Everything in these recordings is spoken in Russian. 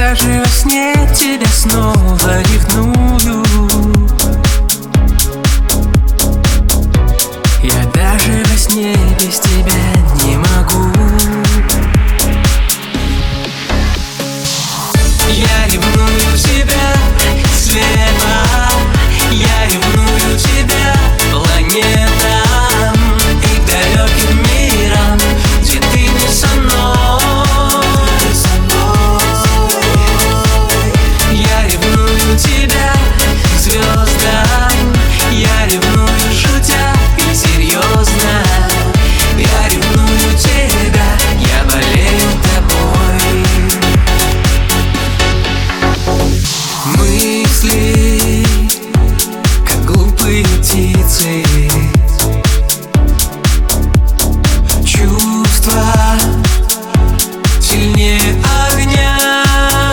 даже во сне тебя снова ревную. Я даже во сне без тебя не могу. Я ревную тебя слева, я ревную тебя планетам и далеким мирам, где ты не со мной. Я ревную тебя звездам, я ревную шутя и серьезно. Я ревную тебя, я болею тобой. Мысли, как глупые птицы, чувства сильнее огня.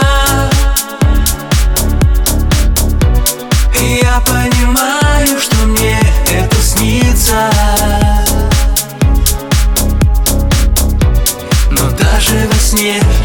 И я понимаю, что мне это снится, но даже во сне